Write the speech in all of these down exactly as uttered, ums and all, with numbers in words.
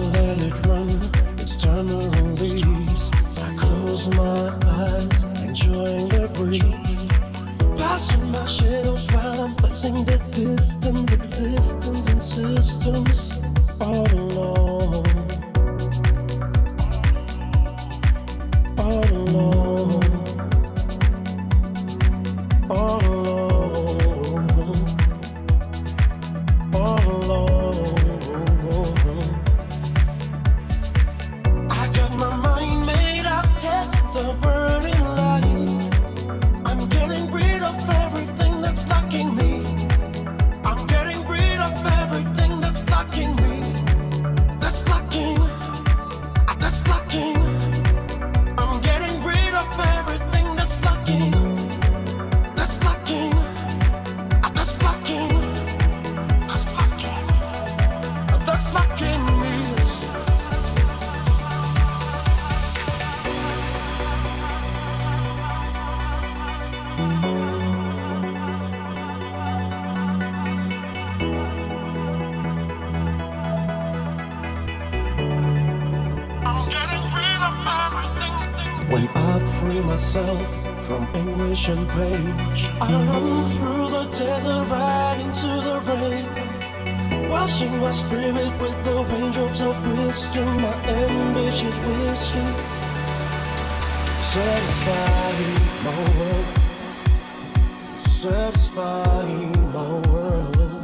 let it run. It's time to release. I close my eyes, enjoying the breeze. Passing my shadows while I'm facing the distant existence and systems all alone. All alone. All alone. All alone. I got my mind made up, head to the burning light. I'm getting rid of everything that's blocking me. I'm getting rid of everything that's blocking me. That's blocking. ah, That's blocking. I'm getting rid of everything that's blocking. That's blocking. ah, That's blocking. That's blocking. ah, That's blocking me. When I free myself from anguish and pain, I run through the desert right into the rain, washing my spirit with the raindrops of wisdom. My ambitious wishes satisfying my world, satisfying my world.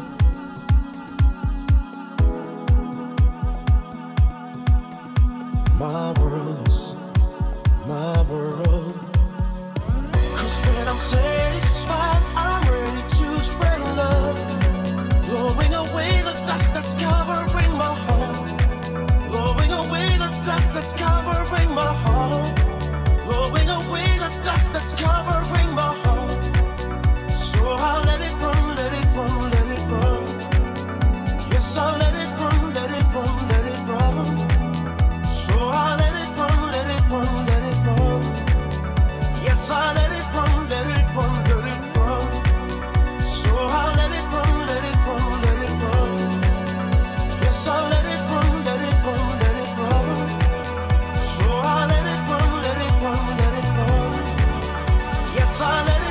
My world is my world. Cause when I'm satisfied, I'm ready to spread love, blowing away the dust that's covering my heart, blowing away the dust that's covering my heart, blowing away the dust that's covering my heart. So I'll let it run, let it run, let it run. Yes, I'll let it run, let it run, let it run. So I'll let it run, let it run, let it run. Yes, I'll let it run, let it run, let it run. So I'll let it run, let it run, let it run. Yes, I'll let it run, let it run, let it run. So I'll let it run, let it run, let it run. Yes, I'll let it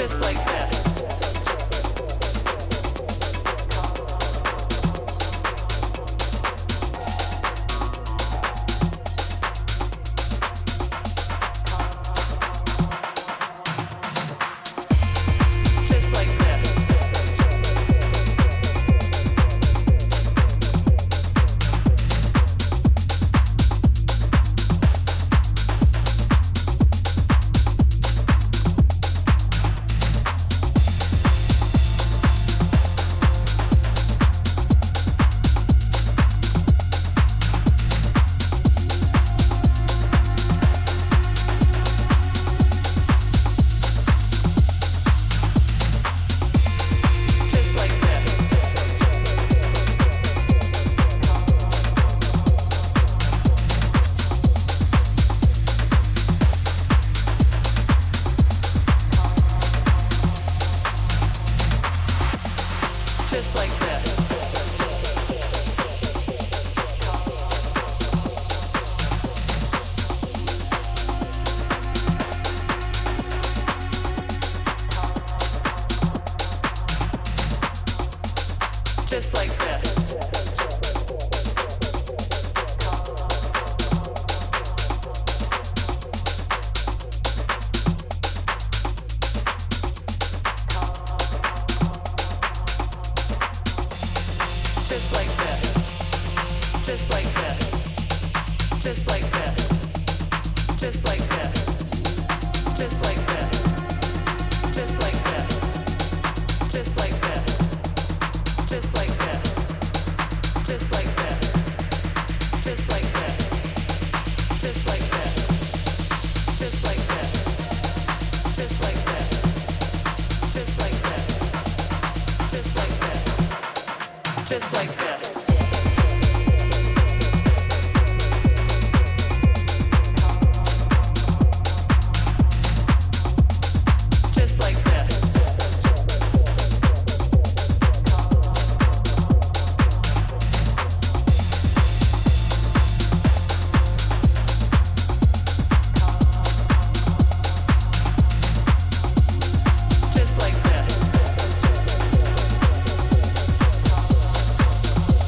Just like this.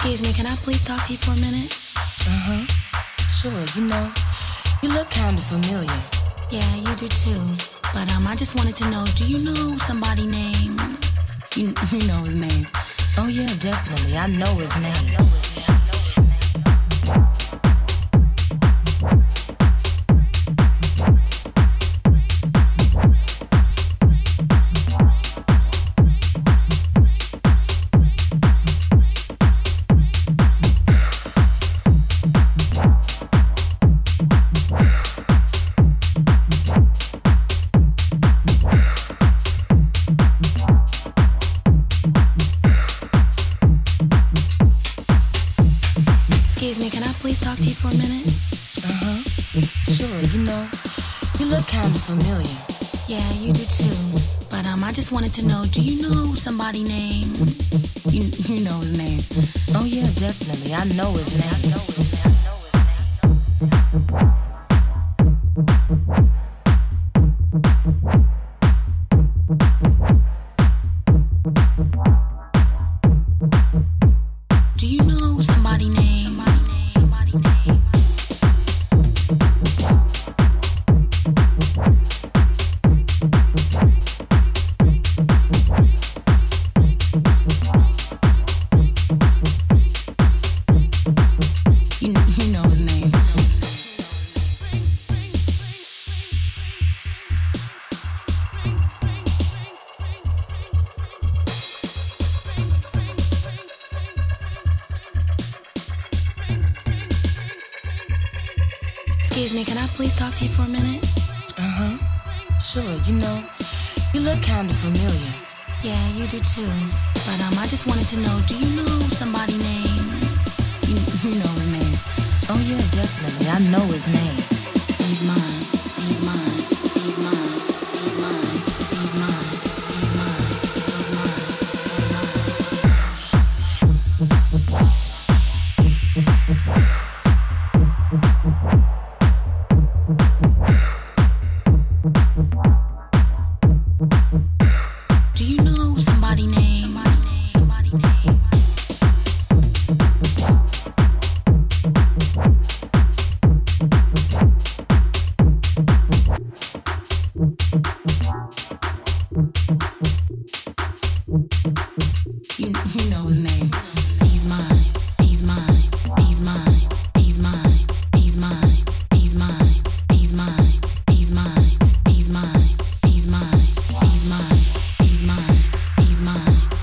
Excuse me, can I please talk to you for a minute? Uh-huh. Sure, you know, you look kind of familiar. Yeah, you do too. But um, I just wanted to know, do you know somebody named... You, you know his name. Oh yeah, definitely. I know his name. Excuse me, can I please talk to you for a minute? Uh-huh. Sure, you know, you look kind of familiar. Yeah, you do too. But um, I just wanted to know, do you know somebody named... You, you know his name. Oh yeah, definitely. I know his name. I know his name. Do you know somebody named... Somebody named... You, you know his name. Excuse me, can I please talk to you for a minute? Uh-huh. Sure, you know, you look kind of familiar. Yeah, you do too. But um, I just wanted to know, do you know somebody named... You, you know his name. Oh yeah, definitely. I know his name. He's mine. He's mine. He's mine. He's mine. He's mine. He's mine. He's mine. Do you know somebody named... Somebody named... You, you know his name. He's mine. He's mine. He's mine. He's mine. He's mine. He's mine. He's mine. He's mine. He's mine. He's mine. He's mine. He's mine. He's mine.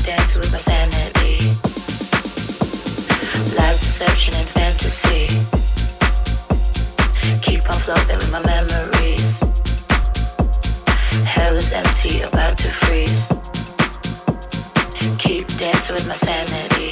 dance with my sanity. Lies, deception, and fantasy. Keep on floating with my memories. Hell is empty, about to freeze. Keep dancing with my sanity.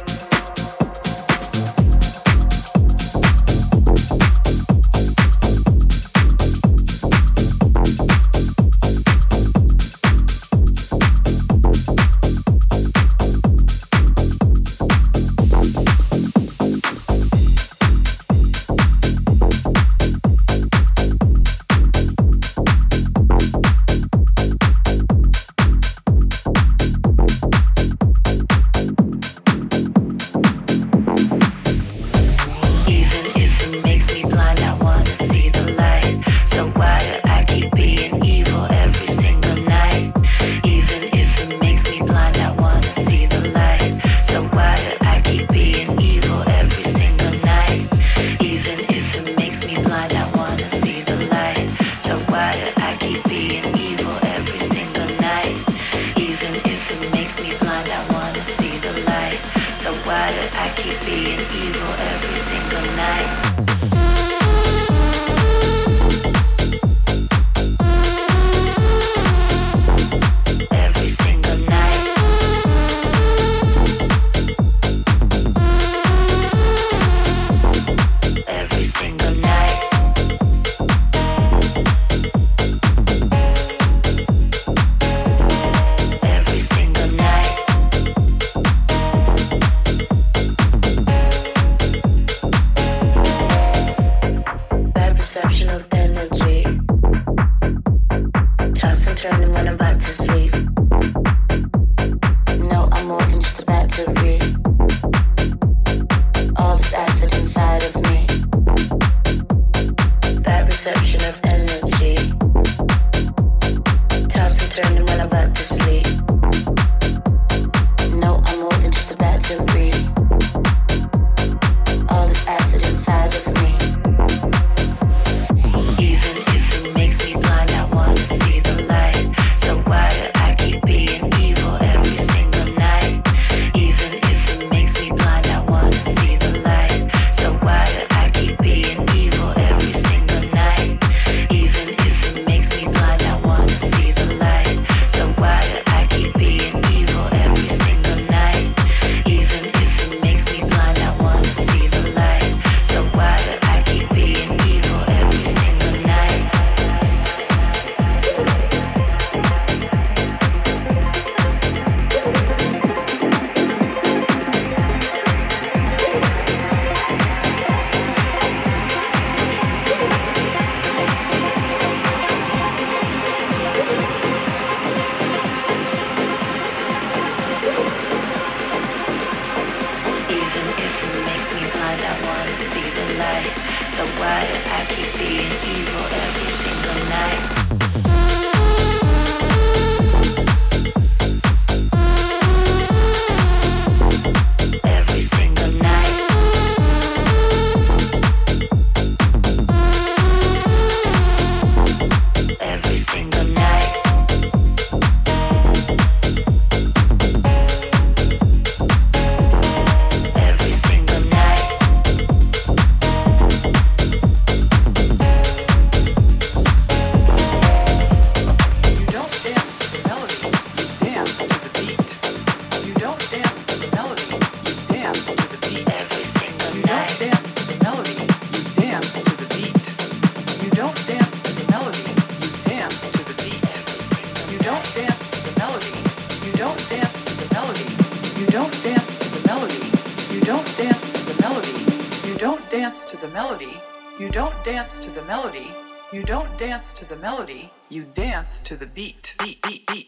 To the melody, you dance to the beat. Beat, beat, beat.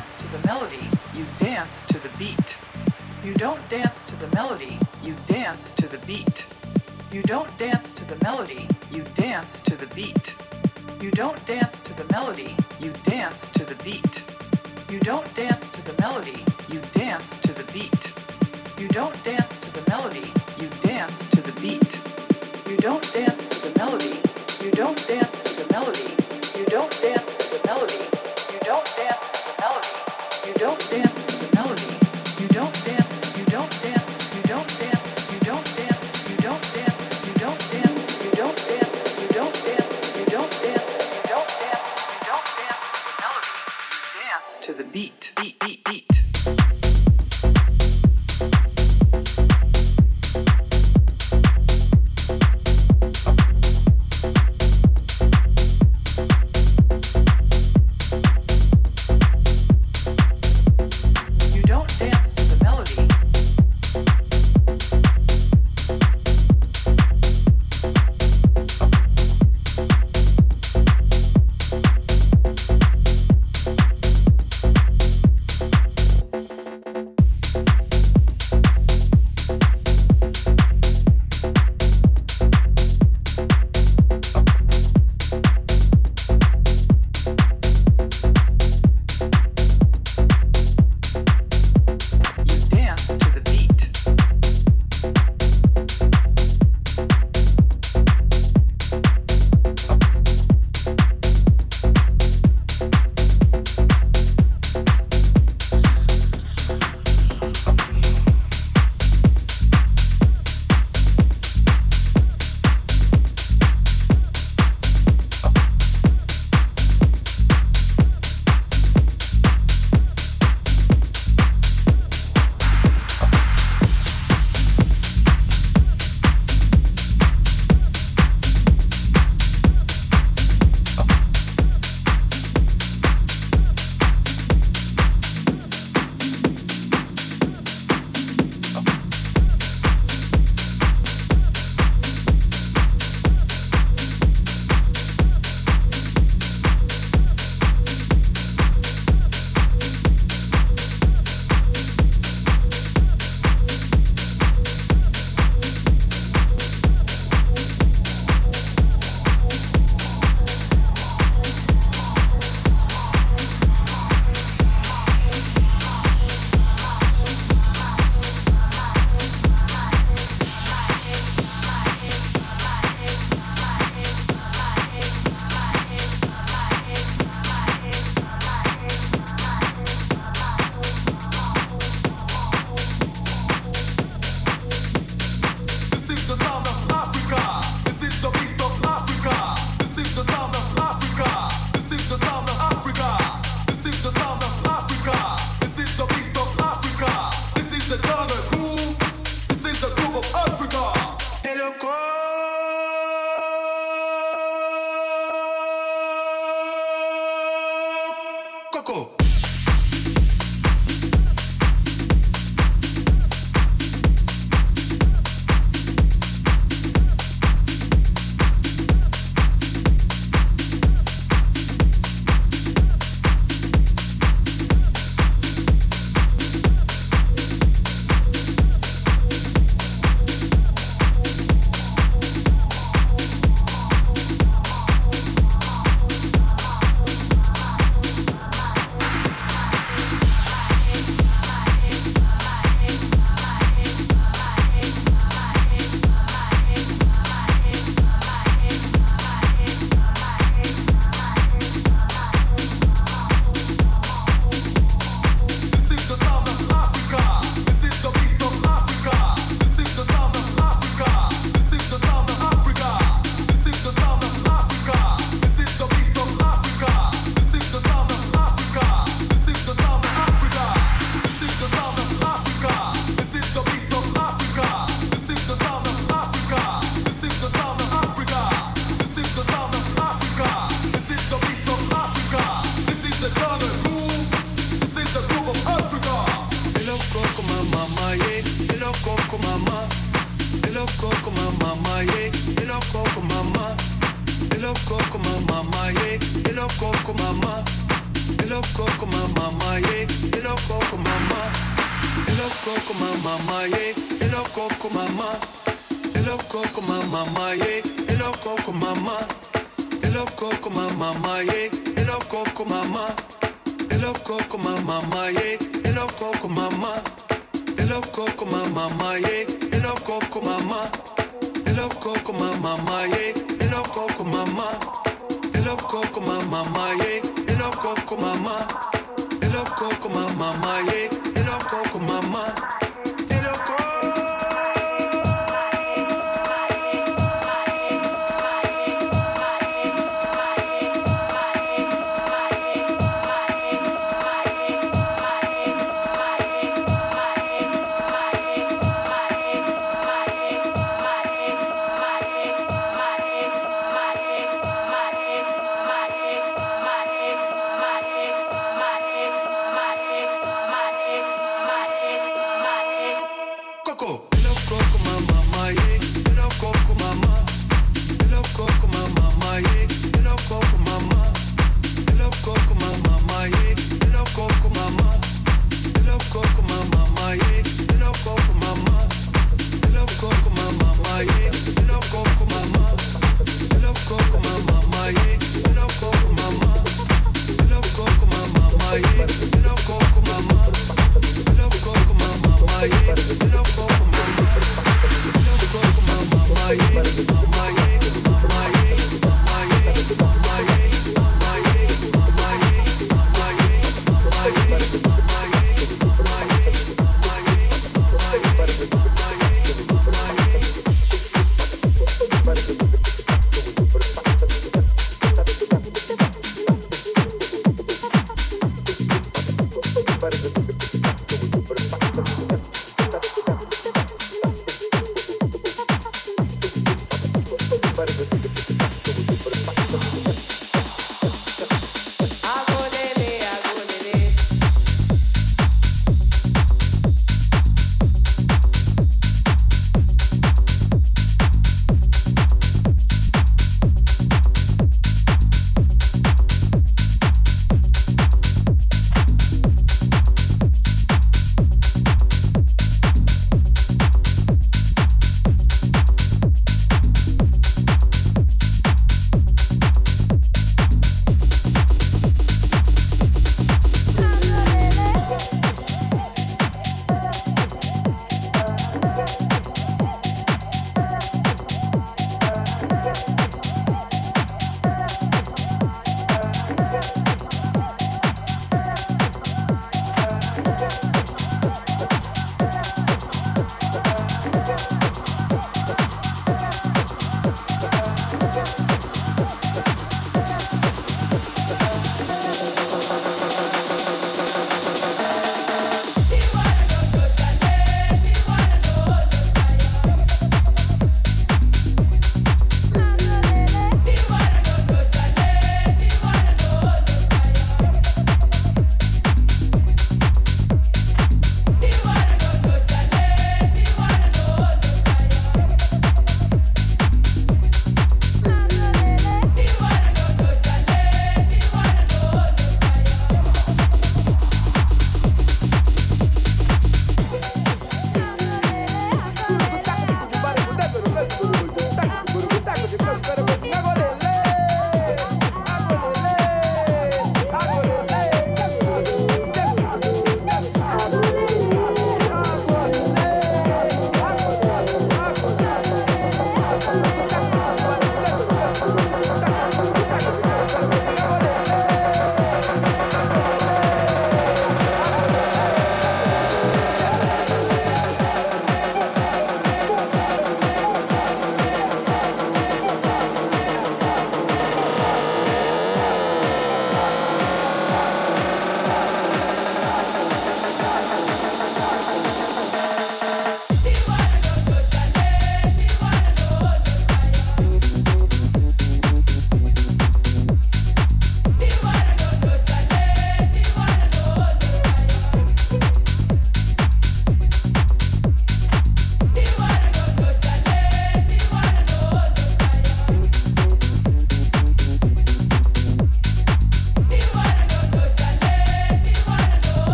dance to the melody, you dance to the beat. You don't dance to the melody, you dance to the beat. You don't dance to the melody, you dance to the beat. You don't dance to the melody, you dance to the beat. You don't dance to the melody, you dance to the beat. You don't dance to the melody, you dance to the beat. You don't dance to the melody, you don't dance to the melody. You don't dance to the melody, you don't dance to the melody. You don't dance to the melody, you don't dance, you don't dance, you don't dance, you don't dance, you don't dance, you don't dance, you don't dance, you don't dance, you don't dance, you don't dance, you don't dance to the melody. You dance to the beat, beat, beat, beat. coco mama, yeah. Hello coco mama. Hello coco mama, yeah. Hello coco mama. Hello coco mama, yeah. Hello coco mama. Hello coco mama, yeah. Hello coco mama. Hello coco mama, yeah. Hello coco mama. Hello coco mama, yeah. Hello coco mama. Hello coco mama, yeah. Hello coco mama. Hello coco mama, yeah. Hello coco mama. Hello coco.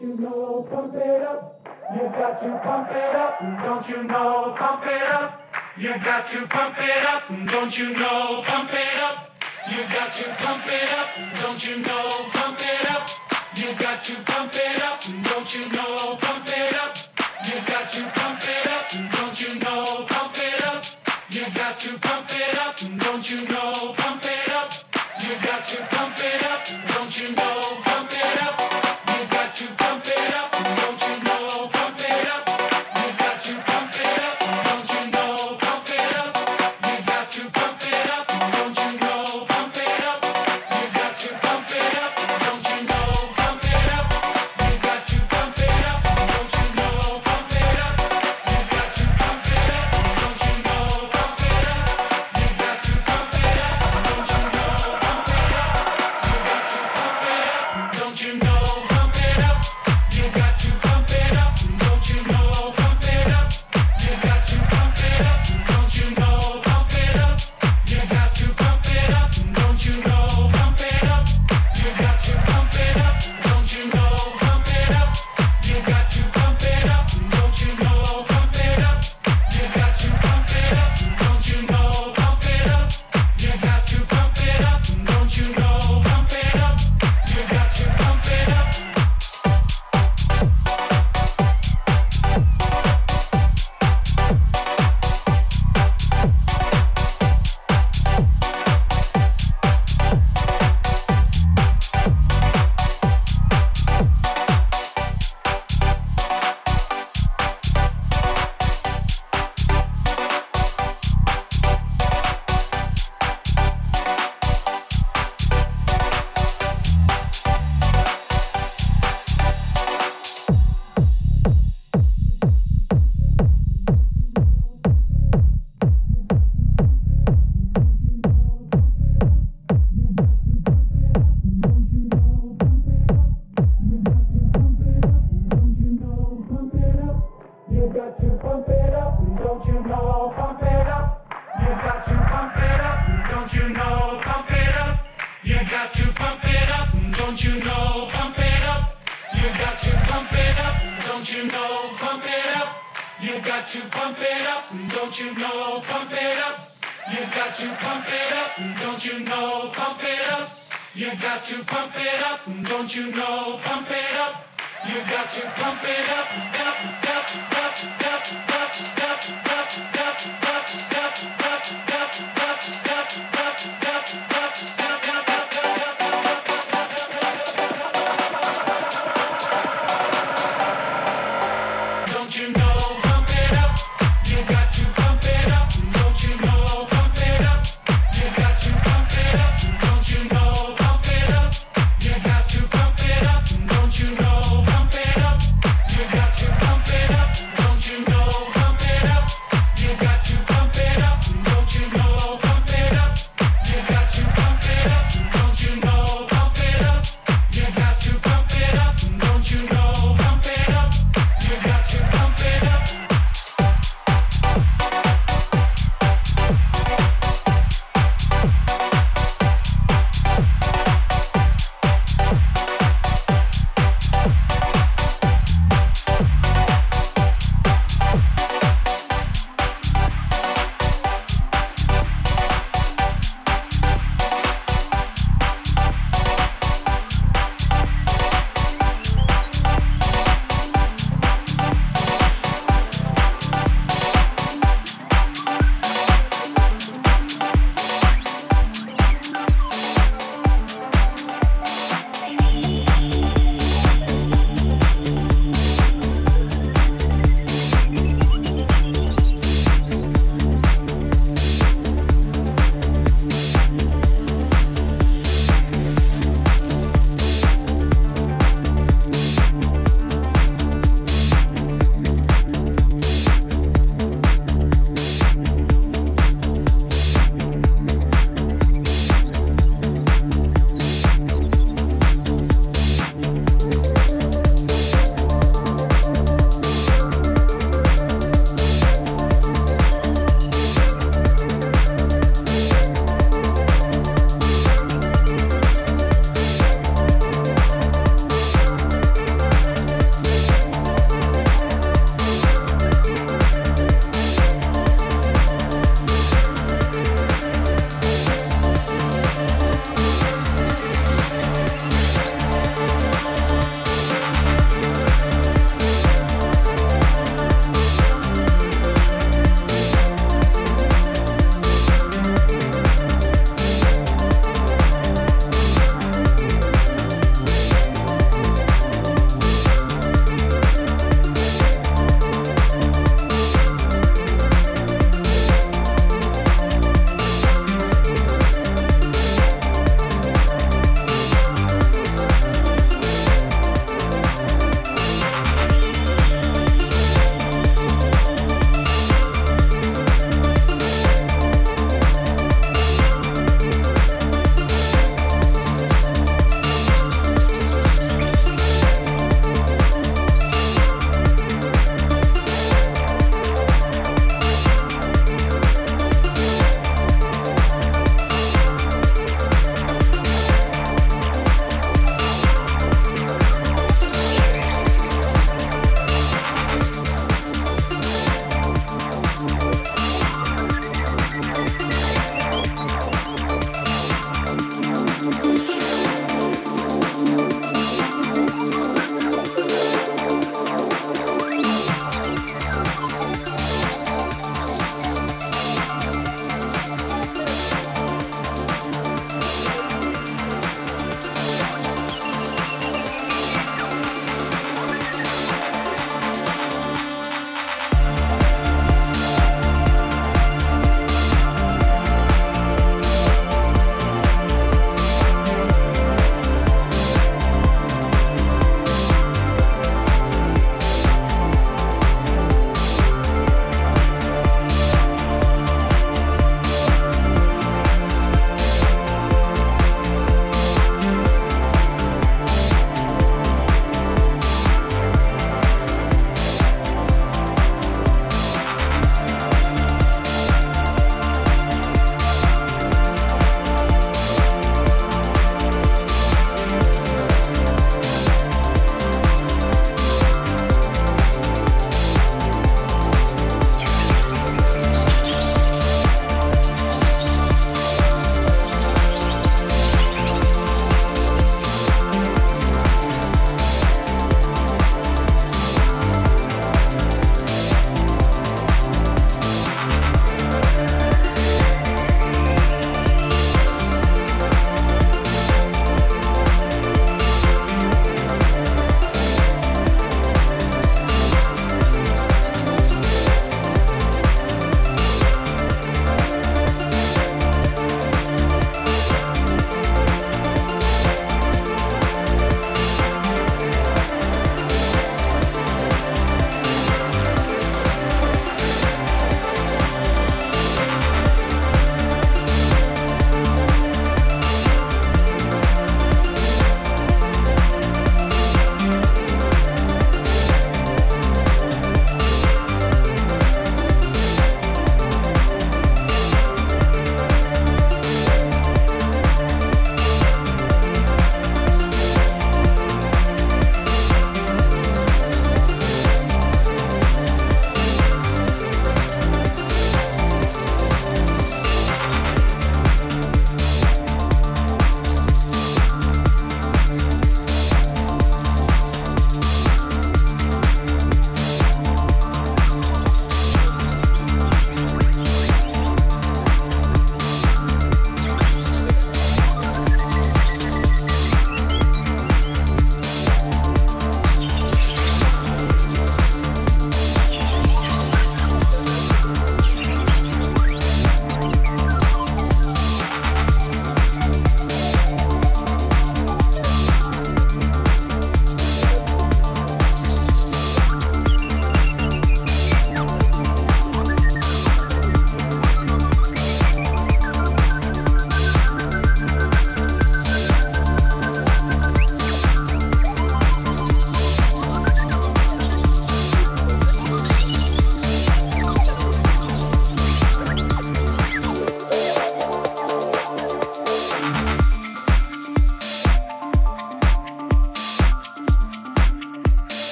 you know, pump it up. You got to pump it up, don't you know, pump it up. You got to pump it up, don't you know, pump it up. You got to pump it up, don't you know, pump it up. You got to pump it up, don't you know, pump it up. You got to pump it up, don't you know, pump it up. You got to pump it up, don't you know, pump it up. You got to pump it up, don't you know, pump it up. You got to pump it up, don't you know, pump it up. You got to pump it up, don't you know, pump it up. You got to pump it up, don't you know, pump it up. You got to pump it up, don't you know, pump it up. You got to pump it up, don't you know, pump it up. You got to pump it up, don't you know, pump it up. You got to pump it up, don't you know, pump it up. You got to pump it up, don't you know, pump it up. You got to pump it up, don't you know, pump it up. You got to pump it up, don't you know, pump it up. You got to pump it up, don't you know, pump it up. You got to pump it up, don't you know, pump it up. You got to pump it up, don't you know, pump it up. You got to pump it up, don't you know, pump it up. You got to pump it up, don't you know, pump it up. You got to pump it up. You got to pump it up, don't you know, pump it up. You got to pump it up, don't you know, pump it up. You got to pump it up, don't you know, pump it up. You got to pump it up, don't you know, pump it up. You got to pump it up, don't you know, pump it up. You got to pump it up, don't you know, pump it up. You got to pump it up, don't you know, pump it up. You got to pump it up, up, up.